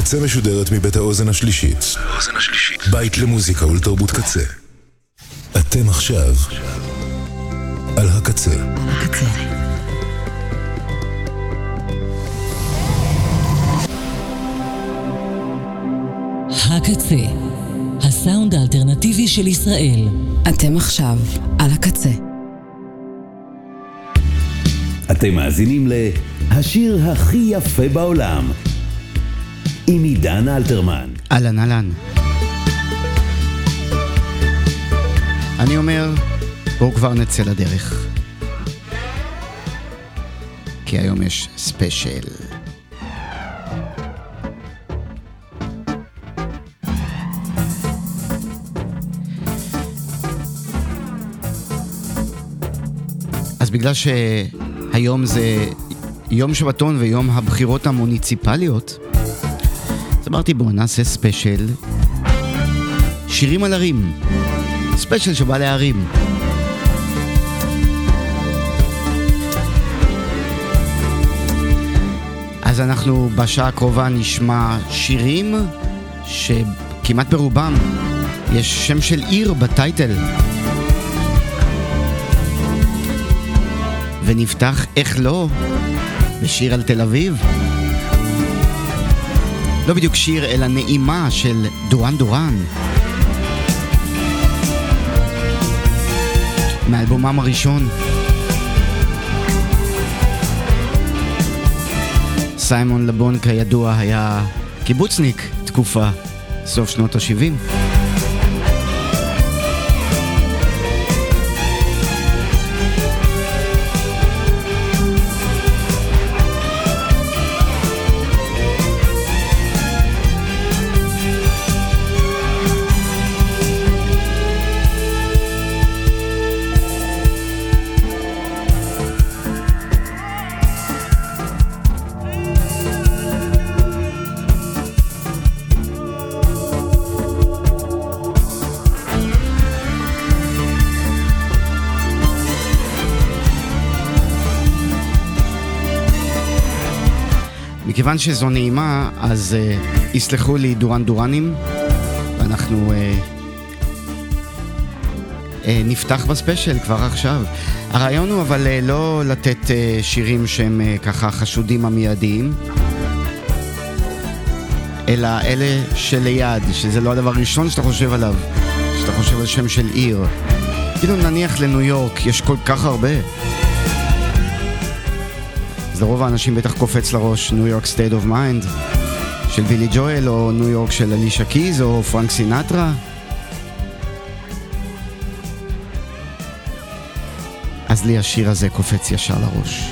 הקצה משודרת מבית האוזן השלישית. בית למוזיקה ולתרבות קצה. אתם עכשיו על הקצה. הקצה, הסאונד האלטרנטיבי של ישראל. אתם עכשיו על הקצה. אתם מאזינים להשיר הכי יפה בעולם עם עידן אלתרמן. אהלן אהלן. אני אומר, בואו כבר נצא לדרך, כי היום יש ספיישל. אז בגלל שהיום זה יום שבתון ויום הבחירות המוניציפליות, אז אמרתי בואו נעשה ספיישל שירים על ערים, ספיישל שבא לערים. אז אנחנו בשעה הקרובה נשמע שירים שכמעט ברובם יש שם של עיר בטייטל, ונפתח איך לא בשיר על תל אביב, לא בדיוק שיר אלא נעימה של דורן דורן מאלבומם הראשון. סיימון לבון כידוע היה קיבוצניק תקופה, סוף שנות ה-70. מכיוון שזו נעימה, אז יסלחו לי דורן דורנים, ואנחנו נפתח בספיישל כבר עכשיו. הרעיון הוא אבל לא לתת שירים שהם ככה חשודים המיידיים, אלא אלה שליד, שזה לא הדבר הראשון שאתה חושב עליו, שאתה חושב על שם של עיר. כאילו נניח לניו יורק, יש כל כך הרבה. אז לרוב האנשים בטח קופץ לראש ניו יורק סטייט אוף מיינד של בילי ג'ואל, או ניו יורק של אלישה קיז, או פרנק סינטרה. אז לי השיר הזה קופץ ישר לראש.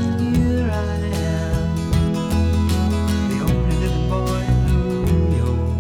Yo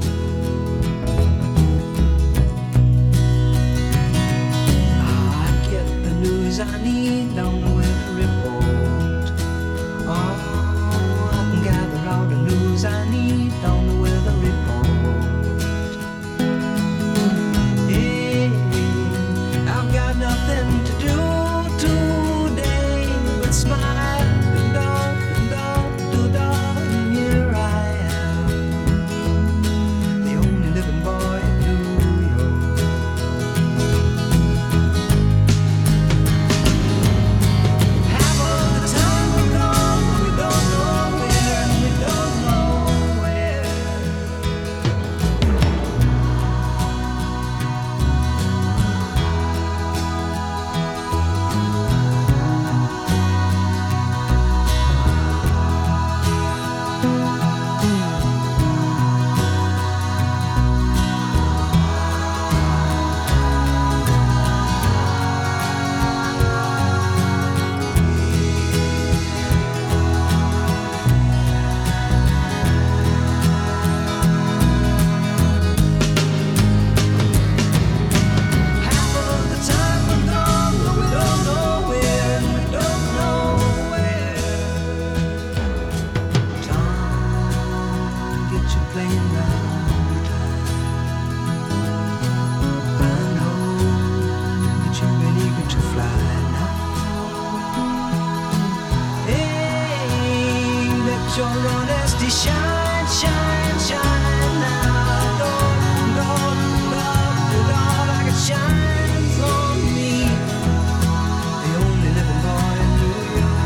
city shine, shine, shine now. Lord, Lord, Lord, Lord, like it shines on me. The only living boy in New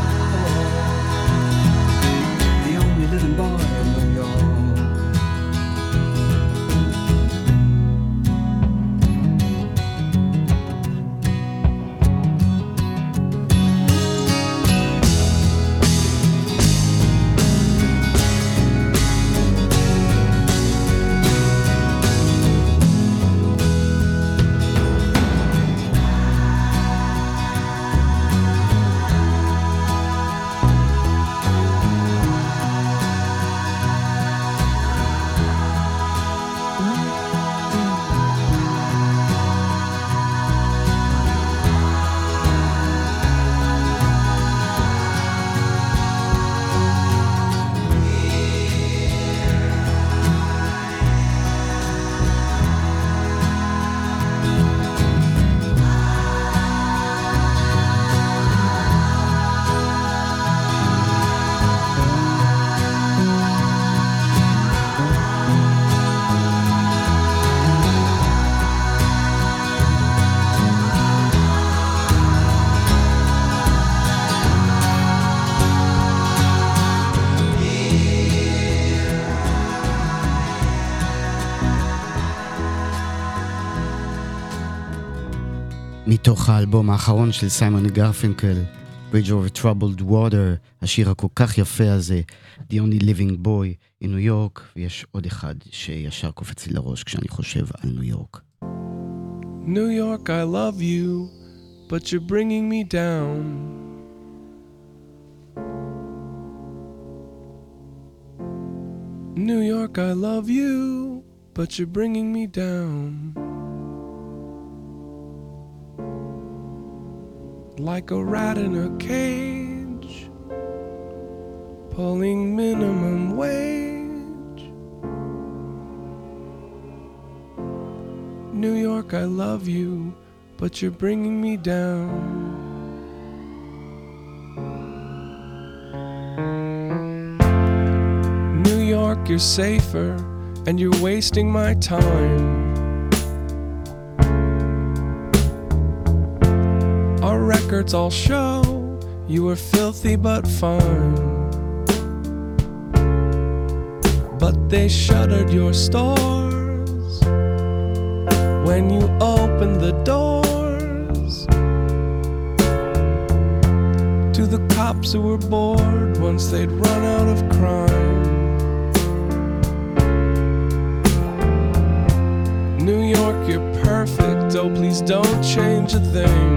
York. The only living boy in New York. מתוך האלבום האחרון של סיימון גרפינקל, Bridge Over Troubled Water, השיר הכל כך יפה הזה, The Only Living Boy in New York, ויש עוד אחד שישר קופץ לי לראש כשאני חושב על ניו יורק. New York, I love you, but you're bringing me down. New York, I love you, but you're bringing me down. Like a rat in a cage, pulling minimum wage. New York, I love you, but you're bringing me down. New York, you're safer, and you're wasting my time. Our records all show you were filthy but fine. But they shuttered your stores when you opened the doors to the cops who were bored once they'd run out of crime. New York, you're perfect, oh please don't change a thing.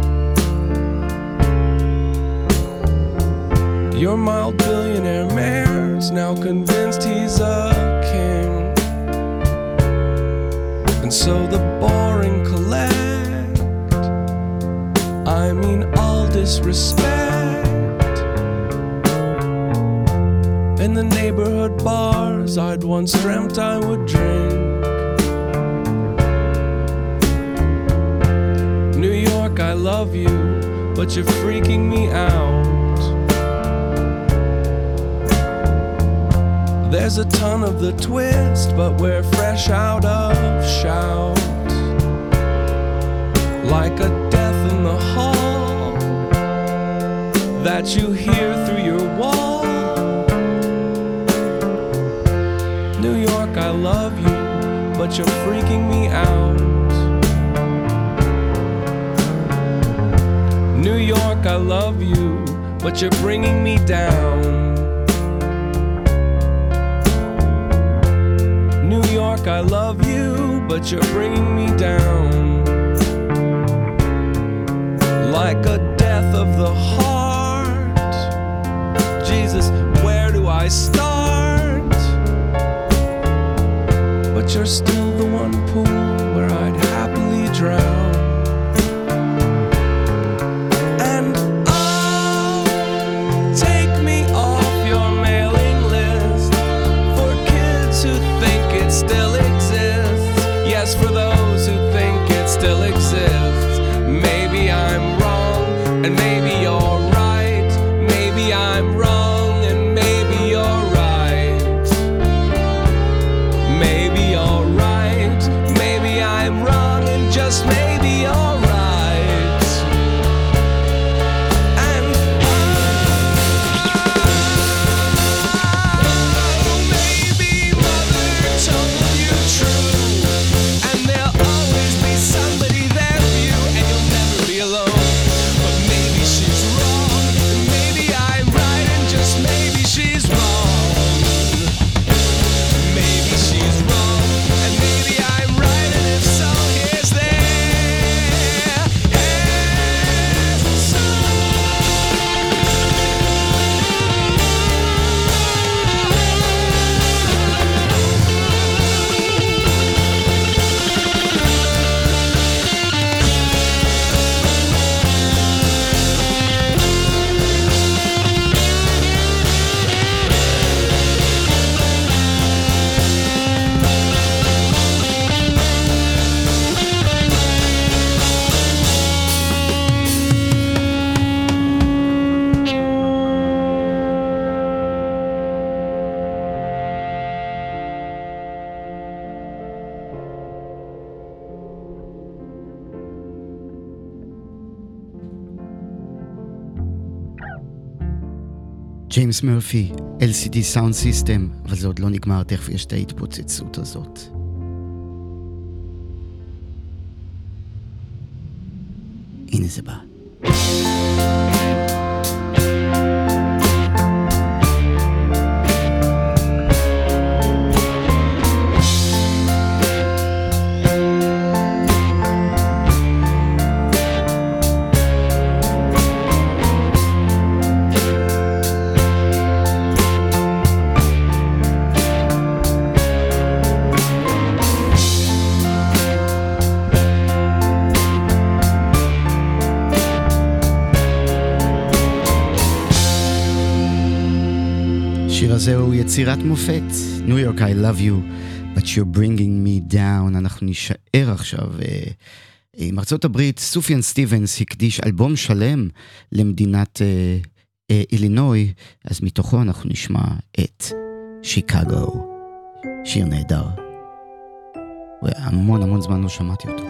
Your mild billionaire mayor's now convinced he's a king. And so the boring collect, I mean all disrespect. In the neighborhood bars I'd once dreamt I would drink. New York, I love you, but you're freaking me out. There's a ton of the twist, but we're fresh out of shout. Like a death in the hall that you hear through your wall. New York, I love you, but you're freaking me out. New York, I love you, but you're bringing me down. New York, I love you, but you're bringing me down. Like a death of the heart. Jesus, where do I start? But you're still the one pool where I'd happily drown. Still exists, yes, for those who think it still exists. Maybe I'm wrong, and maybe you're right. Maybe I'm wrong, and maybe you're right. ג'יימס מרפי, LCD Sound System, אבל זה עוד לא נגמר, תכף יש את ההתפוצצות הזאת. הנה זה בא. זהו יצירת מופת, New York I love you, but you're bringing me down. אנחנו נשאר עכשיו עם ארצות הברית. סופיאן סטיבנס הקדיש אלבום שלם למדינת אילינוי, אז מתוכו אנחנו נשמע את שיקגו, שיר נהדר, והמון זמן לא שמעתי אותו.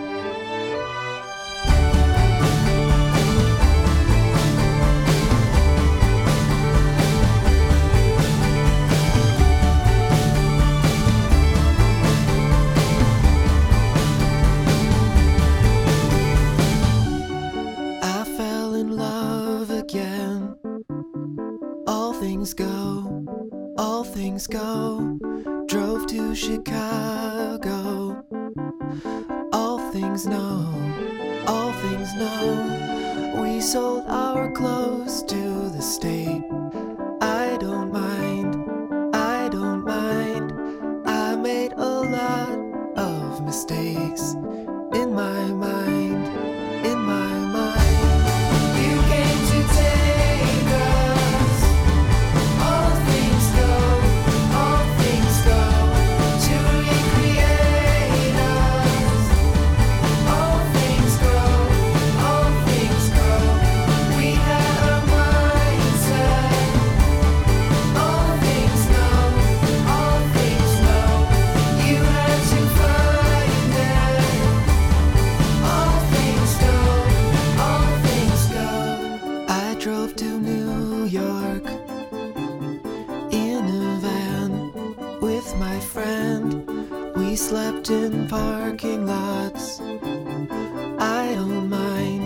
Go, drove to Chicago. All things know, we sold our clothes to the state. I don't mind, I made a lot of mistakes in my mind. You came to take us. All things go to recreate us. All things go. We had a mindset. All things know. You had to find it. All things go. I drove to New York in a van with my friend. We slept in parking lots. I don't mind.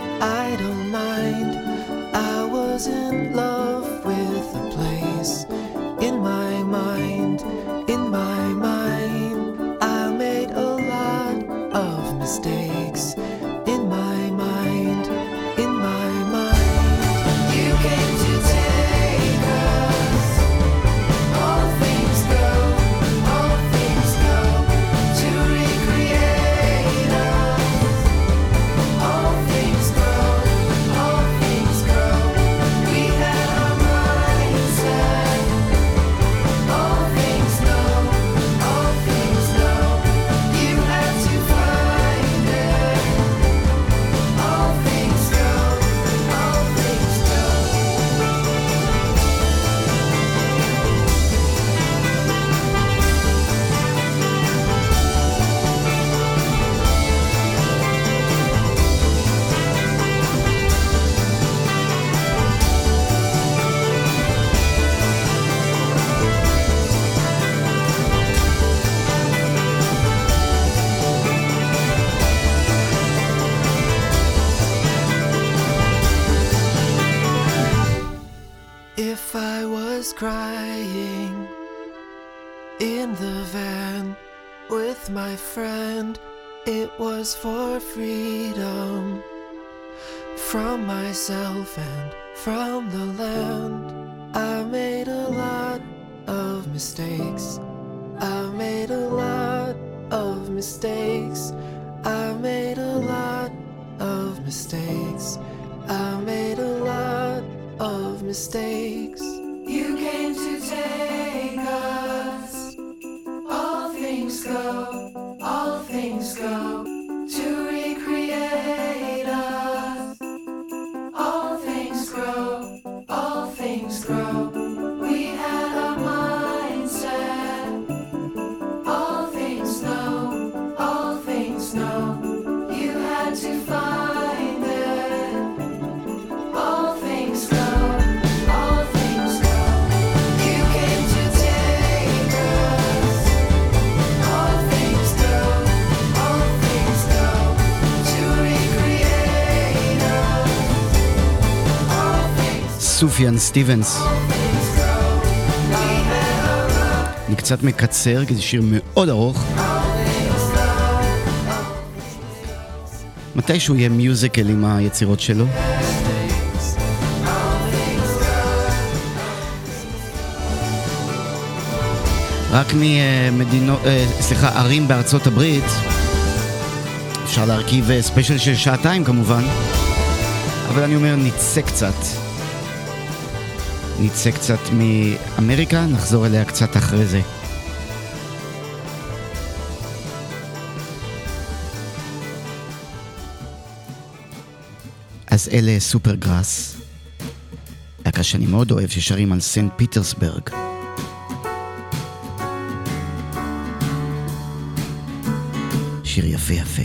I was in love with the place. In my mind, I made a lot of mistakes. In my mind. You came to take us. All things go to recreate us. All things grow. We had our mindset. All things know. You had to find it. All things go. If I was crying in the van with my friend, it was for freedom from myself and from the land. I made a lot of mistakes. I made a lot of mistakes. I made a lot of mistakes. I made a lot of mistakes. You came to take us. All things go to recreate us. All things grow. We had a mindset. All things know. You had to find it. All things go. סופיאן סטיבנס. אני קצת מקצר, כי זה שיר מאוד ארוך. מתישהו יהיה מיוזיקל עם היצירות שלו. רק ממדינות, ערים בארצות הברית, אפשר להרכיב ספיישל של 2 שעות כמובן, אבל אני אומר נצא קצת מאמריקה, נחזור אליה קצת אחרי זה. אז אלה סופרגראס, להקה שאני מאוד אוהב, ששרים על סנט פיטרסברג. שיר יפה יפה.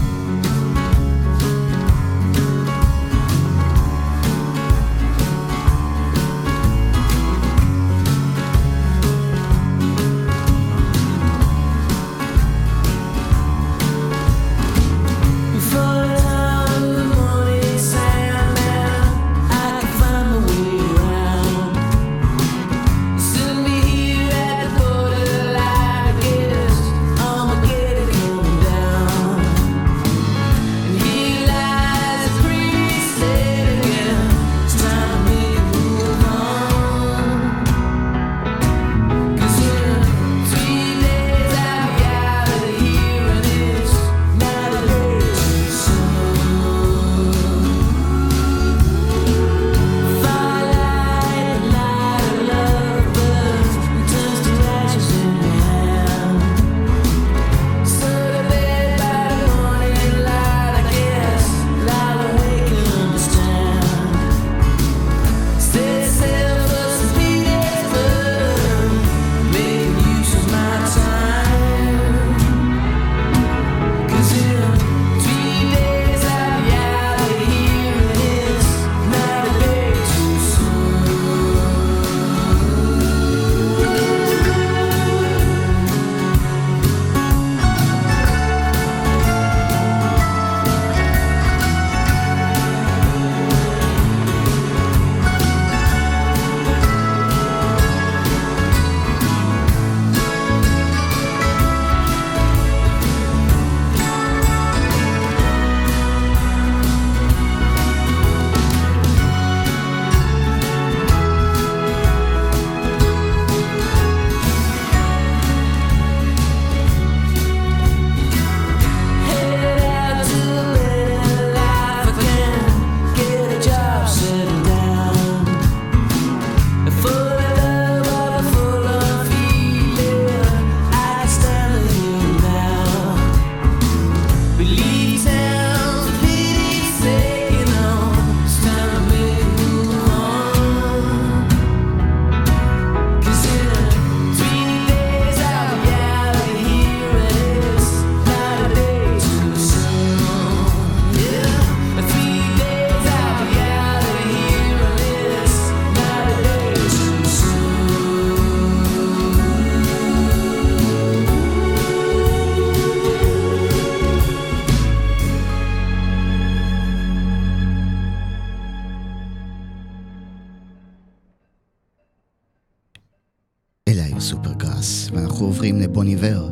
סופרגראס, ואנחנו עוברים לבון איבר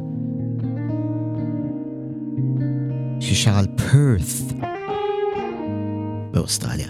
ששר על פרת באוסטרליה.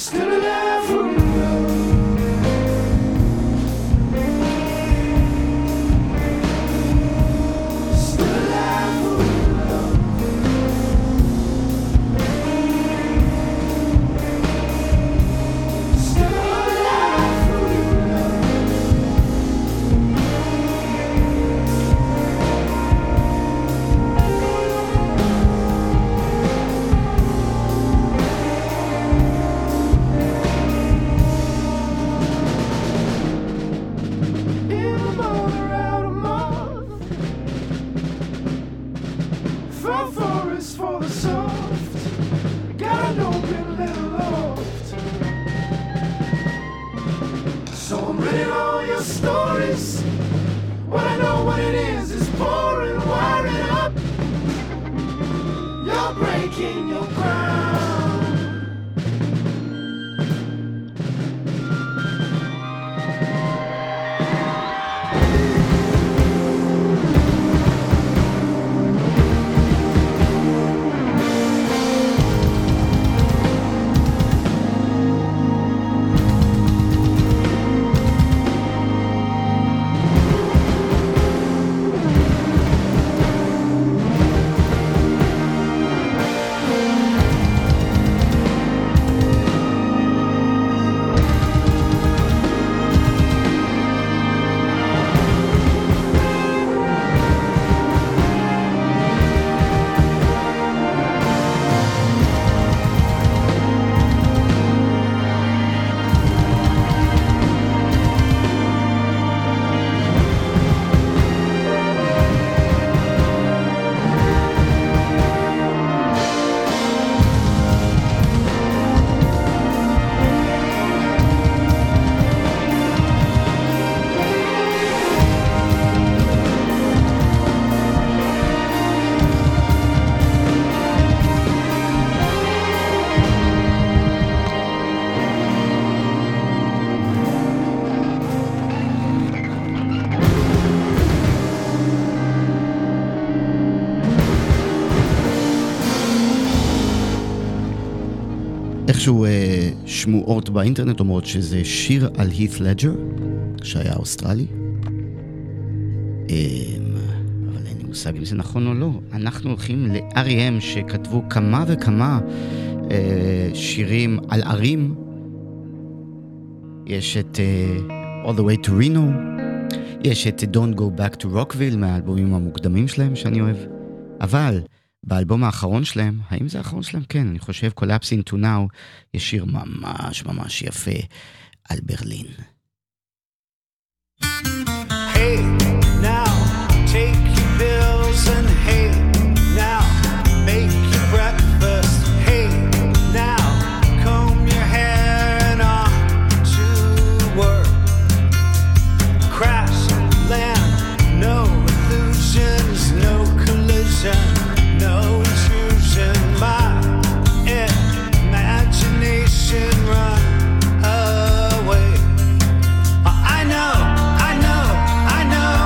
Still alive for love. Still alive for love. Still alive for love. In a month or out a month, for forest for the soft, got an open little loft. So I'm reading all your stories. What I know what it is pouring, wiring up. You're breaking your ground. איכשהו שמועות באינטרנט אומרות שזה שיר על הית לג'ר, שהיה אוסטרלי. אבל אין לי מושג אם זה נכון או לא. אנחנו הולכים ל-R.E.M. שכתבו כמה וכמה שירים על ערים. יש את All the Way to Reno, יש את Don't Go Back to Rockville מהאלבומים המוקדמים שלהם שאני אוהב. אבל באלבום האחרון שלהם, האם זה האחרון שלהם? כן, אני חושב Collapsing to Now, יש שיר ממש ממש יפה על ברלין. Hey, now, take your pills and hey, now, make your breakfast. Hey, now, comb your hair and on to work. Crash, land, no illusions, no collision, no intrusion. My imagination run away. I know, I know, I know.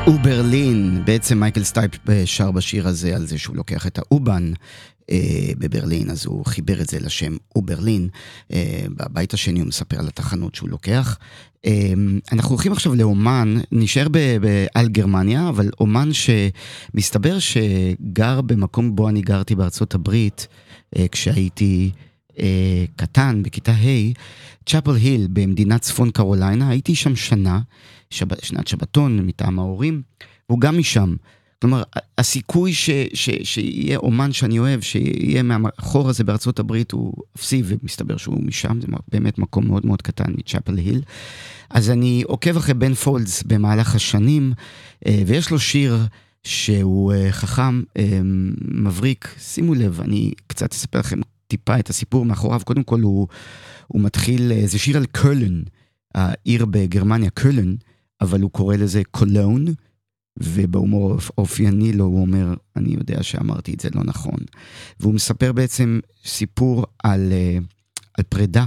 וברלין, בעצם מייקל סטייפ שר בשיר הזה על זה שהוא לוקח את האובן בברלין, אז הוא חיבר את זה לשם וברלין. בבית השני הוא מספר על התחנות שהוא לוקח. אנחנו הולכים עכשיו לאומן, נשאר על גרמניה, אבל אומן שמסתבר שגר במקום בו אני גרתי בארצות הברית, כשהייתי קטן, בכיתה ה', צ'אפל היל במדינת צפון קרוליינה, הייתי שם שנת שבתון מטעם ההורים, והוא גם משם. כלומר, הסיכוי שיהיה אומן שאני אוהב, שיהיה מהחור הזה בארצות הברית, הוא אפסי, ומסתבר שהוא משם, זה באמת מקום מאוד מאוד קטן מצ'אפל היל. אז אני עוקב אחרי בן פולדס במהלך השנים, ויש לו שיר שהוא חכם, מבריק. שימו לב, אני קצת אספר לכם טיפה את הסיפור מאחוריו. קודם כל הוא מתחיל, זה שיר על קולן, העיר בגרמניה, קולן, אבל הוא קורא לזה קולון, ובהומור אופייני לו הוא אומר, אני יודע שאמרתי את זה לא נכון. והוא מספר בעצם סיפור על פרידה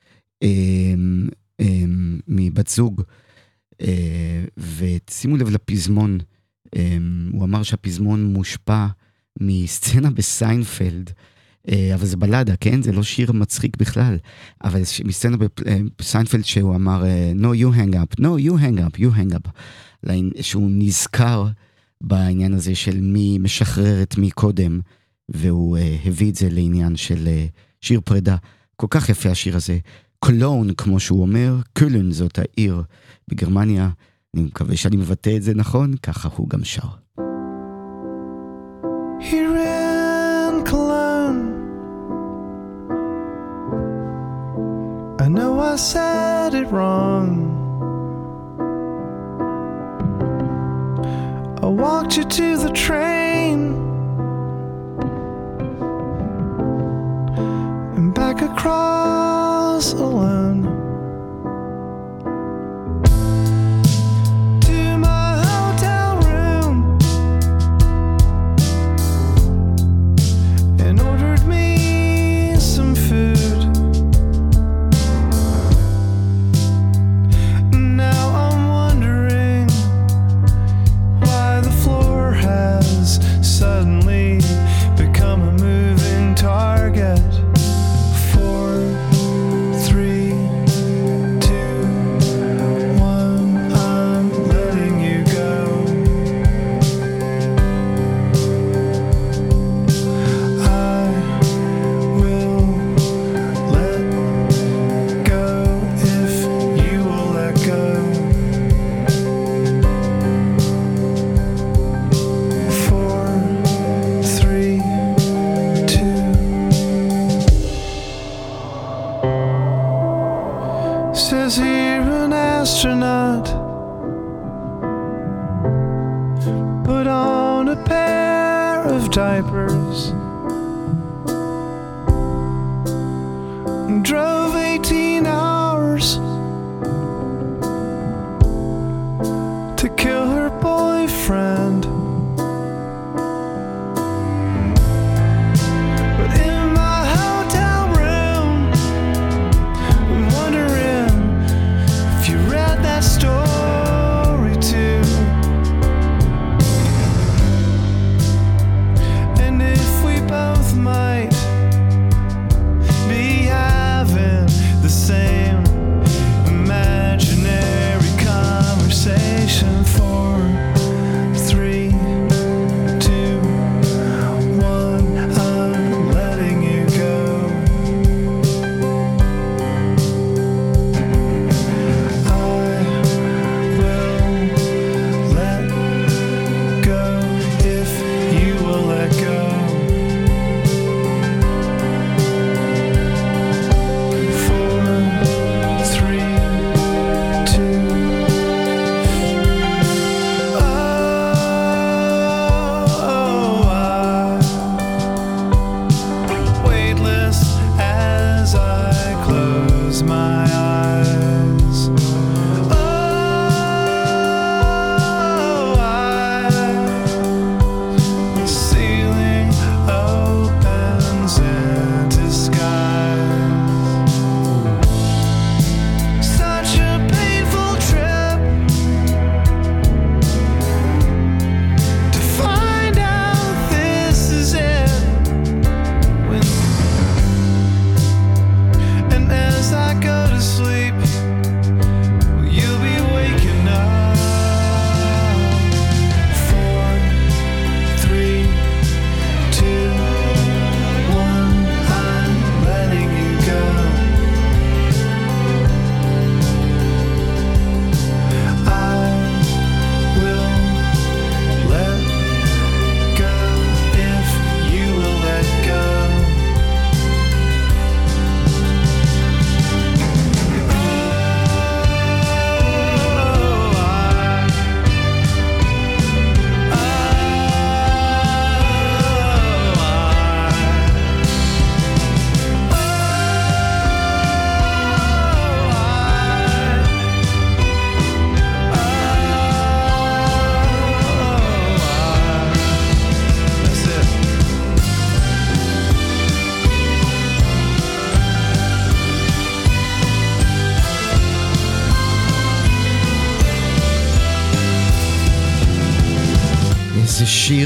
מבת זוג, ושימו לב לפזמון, הוא אמר שהפזמון מושפע מסצנה בסיינפלד, אבל זה בלדה, כן? זה לא שיר מצחיק בכלל, אבל מסצנה בסיינפלד שהוא אמר, no you hang up, no you hang up, you hang up, שהוא נזכר בעניין הזה של מי משחרר את מי קודם, והוא הביא את זה לעניין של שיר פרידה. כל כך יפה השיר הזה. קולון, כמו שהוא אומר, קולן זאת העיר בגרמניה, אני מקווה שאני מבטא את זה נכון, ככה הוא גם שר. Here in Cologne, I know I said it wrong. I walked you to the train and back across alone to my hotel room and ordered me some food. Now I'm wondering why the floor has suddenly become a moving target for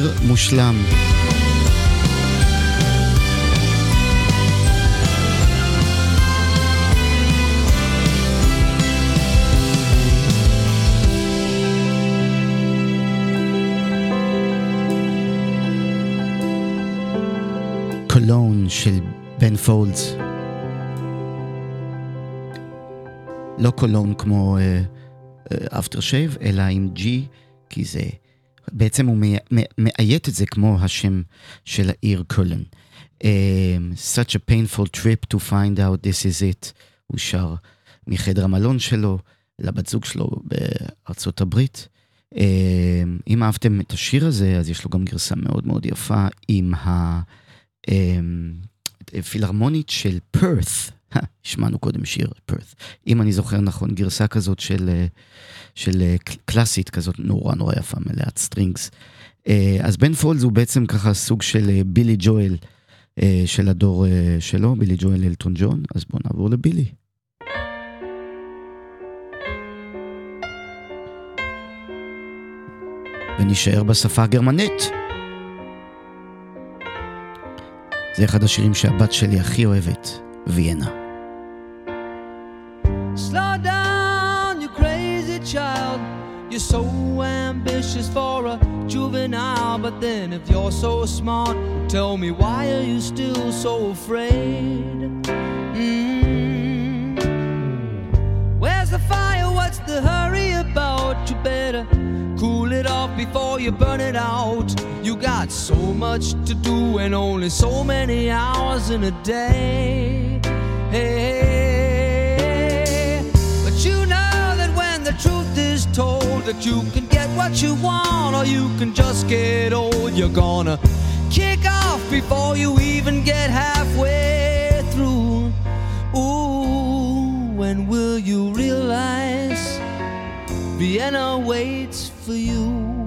שיר מושלם. קולון של בן פולדס. לא קולון כמו אפטר שייב, אלא עם G, כי זה, בעצם הוא מאיית את זה כמו השם של העיר קולון. Such a painful trip to find out this is it. הוא שר מחדר המלון שלו לבת זוג שלו בארצות הברית. אם אהבתם את השיר הזה, אז יש לו גם גרסה מאוד מאוד יפה עם הפילהרמונית של פרת. השמענו קודם שיר פרת. אם אני זוכר נכון, גרסה כזאת של קלאסית כזאת נורא נורא יפה, מלאת סטרינגס. אז בן פולדס הוא בעצם ככה סוג של בילי ג'ואל של הדור שלו, בילי ג'ואל אלטון ג'ון. אז בואו נעבור לבילי. ונשאר בשפה הגרמנית. זה אחד השירים שהבת שלי הכי אוהבת, ויינה. Slow down, you crazy child. You're so ambitious for a juvenile. But then if you're so smart, tell me why are you still so afraid? Where's the fire? What's the hurry about? You better cool it off before you burn it out. You got so much to do and only so many hours in a day. Hey, but you know that when the truth is told, that you can get what you want or you can just get old. You're gonna kick off before you even get halfway through. Ooh, when will you realize Vienna waits for you?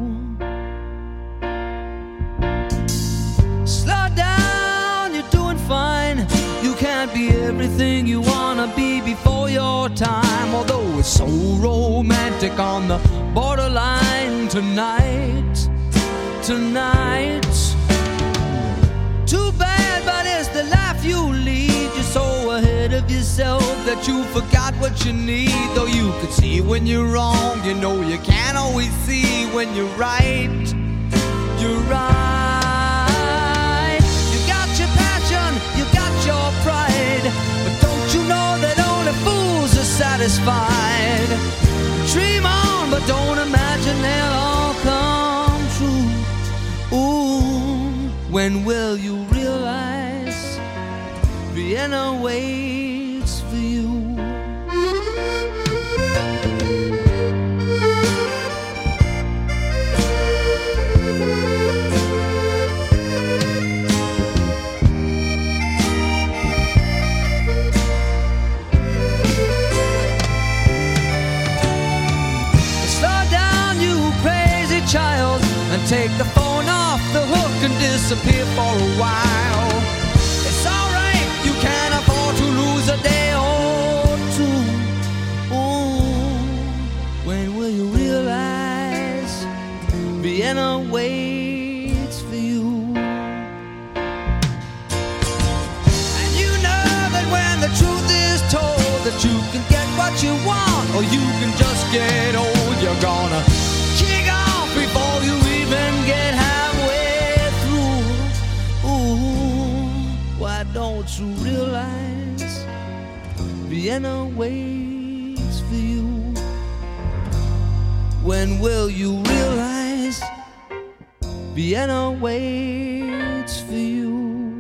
Slow down, you're doing fine. You can't be everything you wanna be before your time. Although it's so romantic on the borderline tonight. Too bad, but it's the life you lead. You're so ahead of yourself that you forgot what you need. Though you could see when you're wrong, you know you can't always see when you're right. You're right. You got your passion, you got your pride, but don't you know that only fools are satisfied? Dream on, but don't imagine they'll all come true. Ooh, when will you realize Vienna waits for you? Slow down, you crazy child, and take the phone off the hook and disappear for a while. It's alright, you can't afford to lose a day or two. Ooh, when will you realize Vienna waits for you? And you know that when the truth is told, that you can get what you want or you can just get old. You're gonna kick off before you even get halfway through. Ooh, why don't you realize Vienna waits for you? When will you realize Vienna waits for you?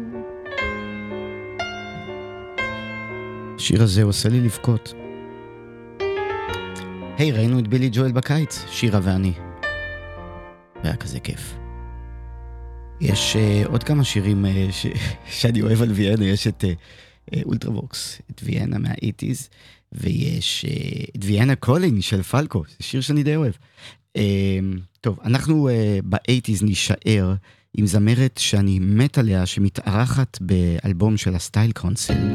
השיר הזה עושה לי לבכות. היי, ראינו את בילי ג'ואל בקיץ, שירה ואני. והיה כזה כיף. יש עוד כמה שירים שאני אוהב על ויינה. יש את אולטרווקס, את ויינה מה-80s, ויש את ויינה קולינג של פלקו, זה שיר שאני די אוהב. טוב, אנחנו ב-80s נשאר עם זמרת שאני מת עליה, שמתארחת באלבום של הסטייל קונסל.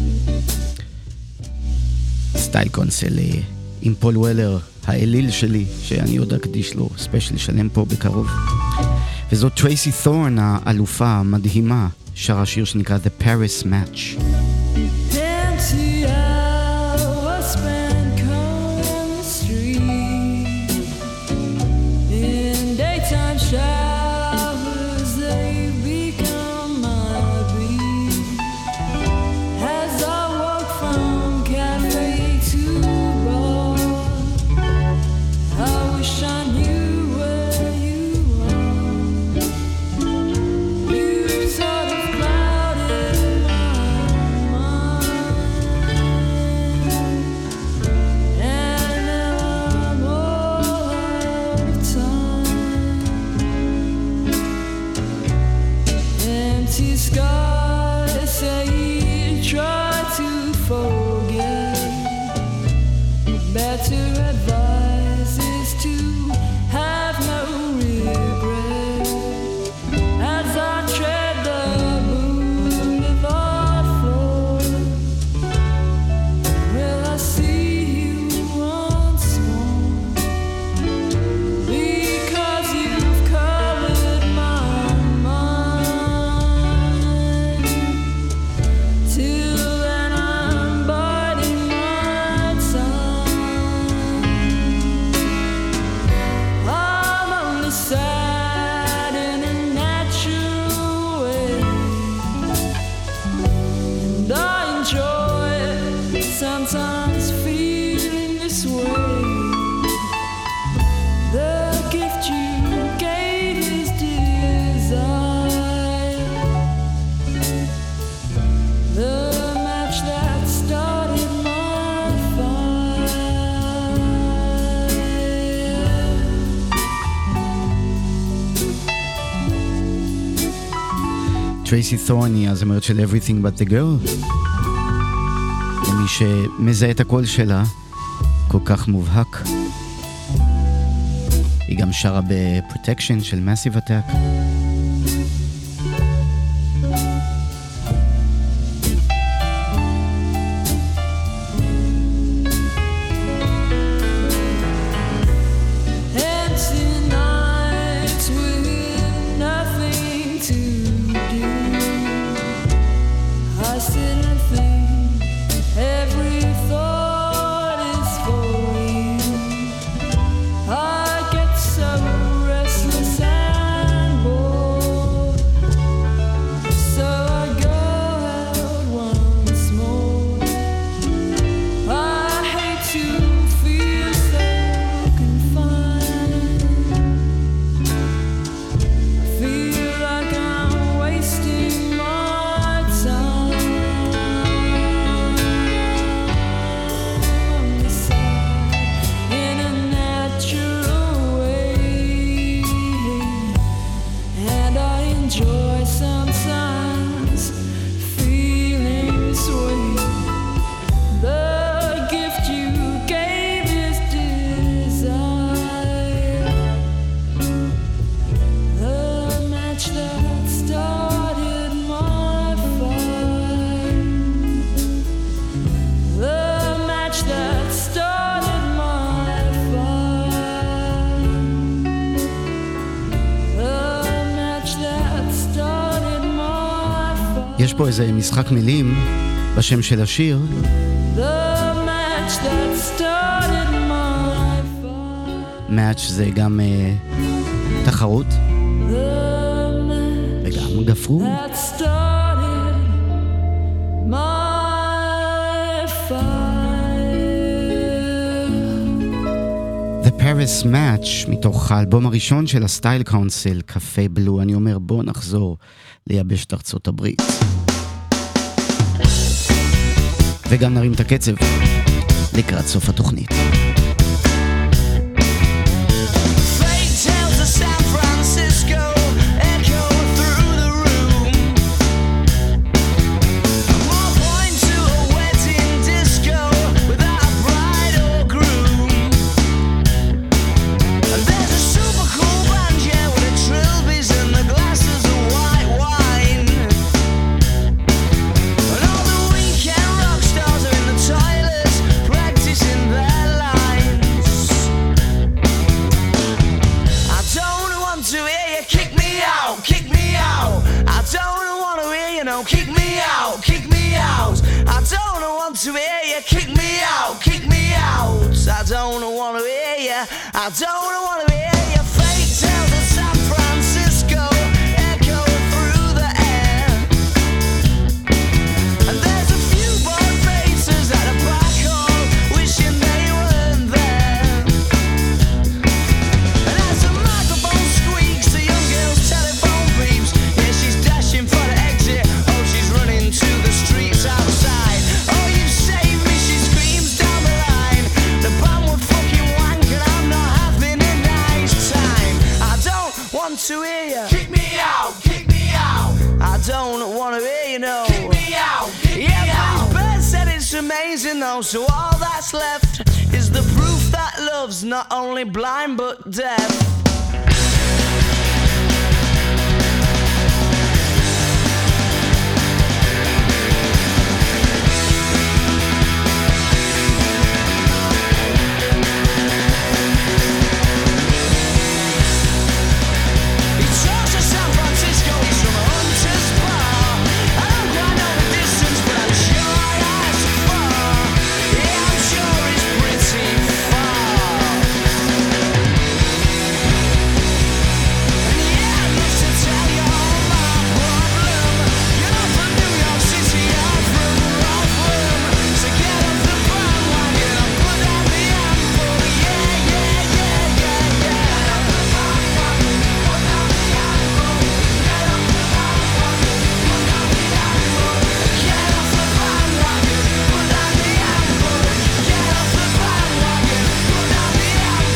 סטייל קונסל עם פול וולר, האליל שלי, שאני עוד אקדיש לו ספיישל שלם פה בקרוב. וזאת טרייסי תורן האלופה המדהימה, שרה שיר שנקרא The Paris Match. Empty hours spent combing the street. In daytime showers, they become my beat. As I walk from cafe to bar, I wish I knew where you are. You sort of clouded my mind, and now I'm all out of time. Empty skies say you try to forget. Better advice is to have no regret. As I tread the boulevard floor, will I see you once more? Because you've colored my mind. Till then I'm biding my time. I'm only sad in a natural way, and I enjoy it sometimes feeling this way. The gift you gave is desire, the match that started my fire. טרייסי תורן היא הזמרת של Everything But The Girl. למי שמזהה את הקול שלה, כל כך מובהק. היא גם שרה ב-Protection של Massive Attack. Empty nights with nothing to do. I sit and think, every thought is for you. I get so restless and bored, so I go out once more. I hate to feel so confined. I feel like I'm wasting my time. I'm sad in a natural way, and I enjoy sometimes feeling this way. The gift you gave is desire, the match that started my fire, the match that started my fire, the match that started my fire, יש פה איזה משחק מילים בשם של השיר. the match that started my fire, מאץ' זה גם תחרות the match וגם גפרור. that started my fire. The Paris Match, מתוך האלבום הראשון של הסטייל קאונסל, קפה בלו. אני אומר בוא נחזור לייבש ארצות הברית. וגם נרים את הקצב לקראת סוף התוכנית. Fake tales of San Francisco echo through the room. More point to a wedding disco without bride or groom. And there's a super cool band, yeah, with the trilbies and the glasses of white wine. And all the weekend rock stars are in the toilets practicing their lines. out, kick me out. I don't want to hear you. Kick me out, kick me out. I don't want to hear you. I don't want to hear you. Fake tales of San Francisco echo through the air. And there's a few bored faces at a black hole wishing they weren't there. And as the microphone squeaks, the young girl's telephone beeps. Yeah, she's dashing for the exit. Oh, she's running to the streets outside. Oh, you saved me, she screams down the line. The band would fucking wank and I'm not having a nice time. I don't want to hear you. Kick me out, kick me out. I don't want to hear you, no. Kick me out, kick me out. Yeah, but Bird said it's amazing though, so all that's left is the proof that love's not only blind but deaf. He talks of San Francisco, he's from a hunter's bar. I don't quite know the distance, but I'm sure that's far. Yeah, I'm sure it's pretty far. And yeah, I'd love to tell you all my problem. You're not from New York City, I'm from Rockland. So get off the bandwagon and put down the ample. Yeah, yeah, yeah, yeah, yeah. Get off the bandwagon, put down the ample. Get off the bandwagon, put down the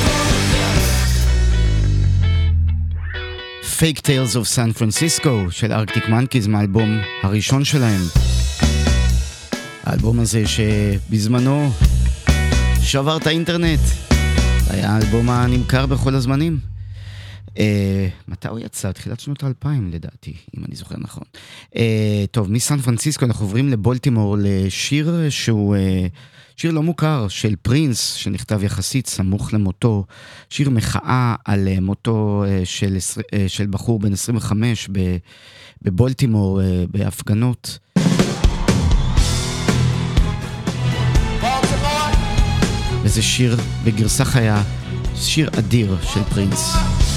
ample. Fake Tales of San Francisco של ארקטיק מנקיז מהאלבום הראשון שלהם. האלבום הזה שבזמנו שבר את האינטרנט. היה האלבום הנמכר בכל הזמנים. מתי הוא יצא? תחילת שנות 2000 לדעתי, אם אני זוכר נכון. טוב, מסן פרנסיסקו אנחנו עוברים לבולטימור לשיר שהוא שיר לא מוכר של פרינס, שנכתב יחסית סמוך למותו, שיר מחאה על מותו של בחור בן 25 בבולטימור בהפגנות. וזה שיר בגרסה חיה, שיר אדיר של פרינס.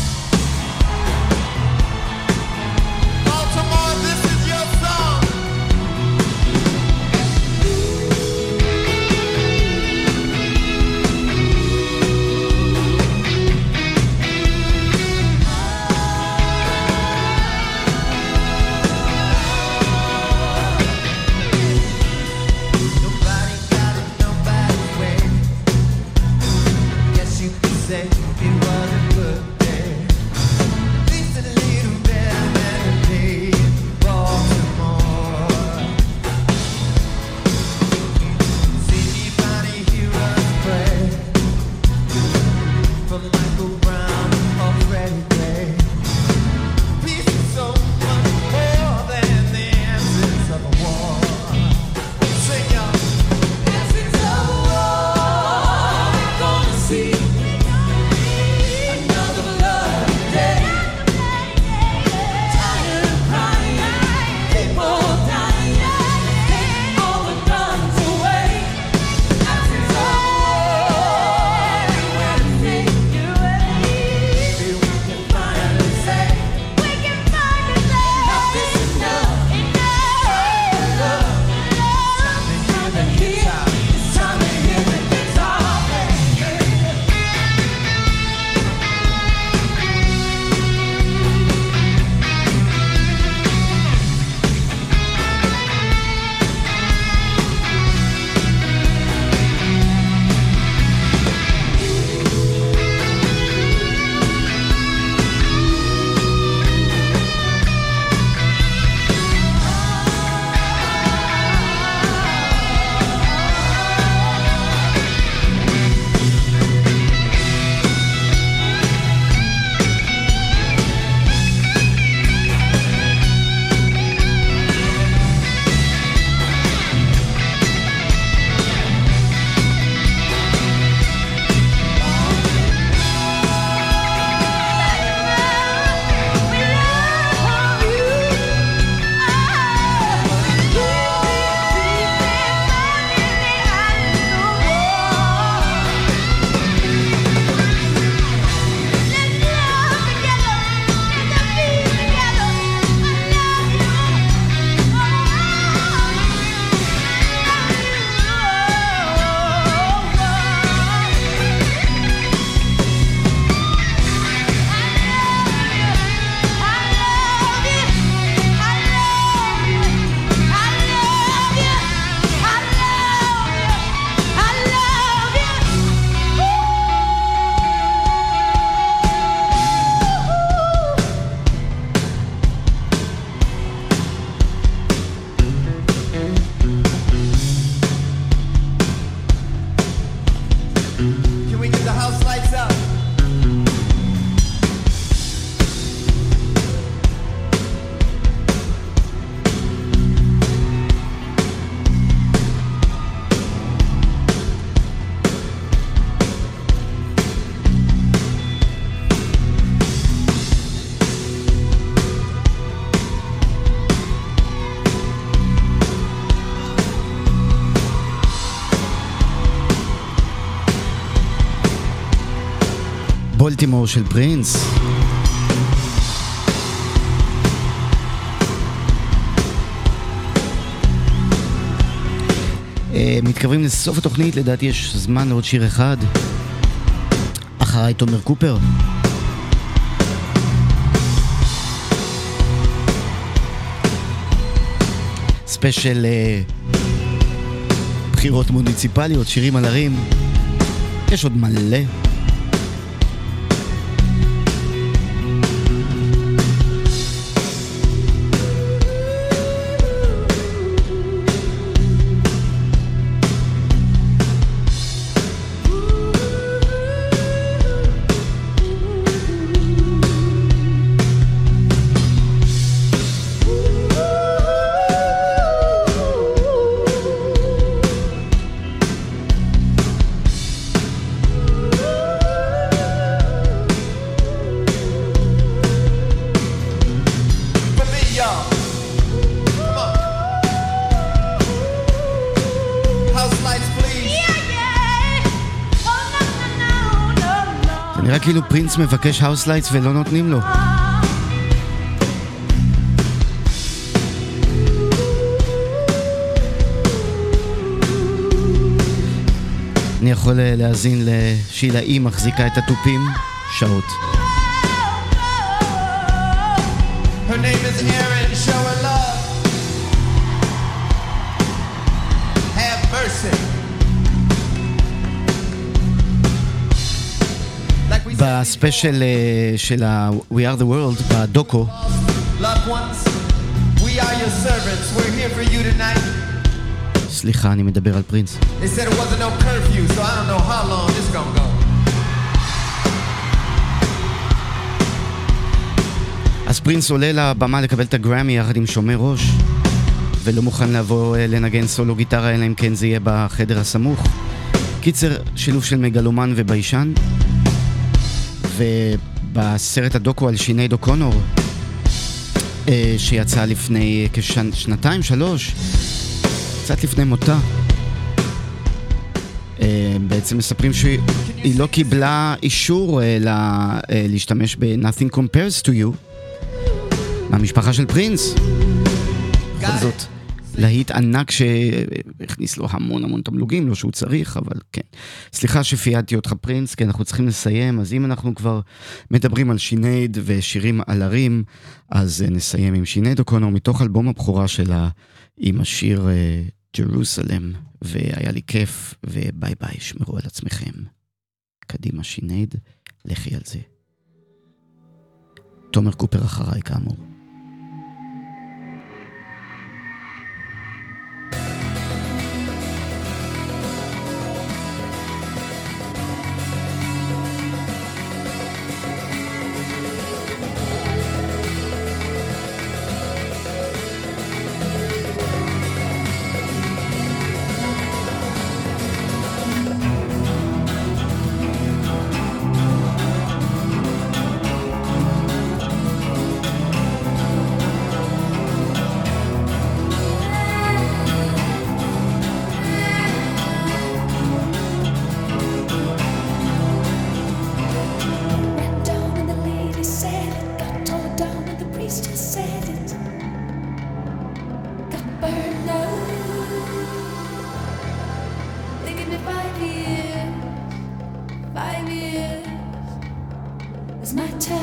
Nobody got it nobody's way. Guess you could say it wasn't worth it. בולטימור של פרינס. מתקרבים לסוף התוכנית, לדעתי יש זמן לעוד שיר אחד. אחריי תומר קופר. ספיישל בחירות מוניציפליות, שירים על ערים. יש עוד מלא. נראה כאילו פרינס מבקש האוס לייטס ולא נותנים לו. אני יכול להאזין לשילה היא מחזיקה את הטופים שעות. Her name is Erin, show her love. Have mercy. בספיישל של We Are the World, בדוקו. Loved ones, we are your servants. We're here for you tonight. סליחה, אני מדבר על פרינס. They said it wasn't no curfew, so I don't know how long this gonna go. אז פרינס עולה לבמה לקבל את הגרמי יחד עם שומר ראש, ולא מוכן לבוא לנגן סולו גיטרה, אלא אם כן זה יהיה בחדר הסמוך. קיצר, שילוב של מגלומן וביישן. ובסרט הדוקו על שינייד אוקונור, שיצא לפני כשנתיים, 3, קצת לפני מותה, בעצם מספרים שהיא לא קיבלה אישור להשתמש ב-Nothing Compares to You מהמשפחה של פרינס. בכל זאת, להיט ענק שהכניס לו המון תמלוגים, לא שהוא צריך, אבל כן. סליחה שפיידתי אותך פרינס, כי אנחנו צריכים לסיים, אז אם אנחנו כבר מדברים על שינייד ושירים על ערים, אז נסיים עם שינייד אוקונור מתוך אלבום הבכורה שלה, עם השיר ג'רוסלם, והיה לי כיף, וביי ביי, שמרו על עצמכם. קדימה שינייד, לכי על זה. תומר קופר אחריי כאמור. My time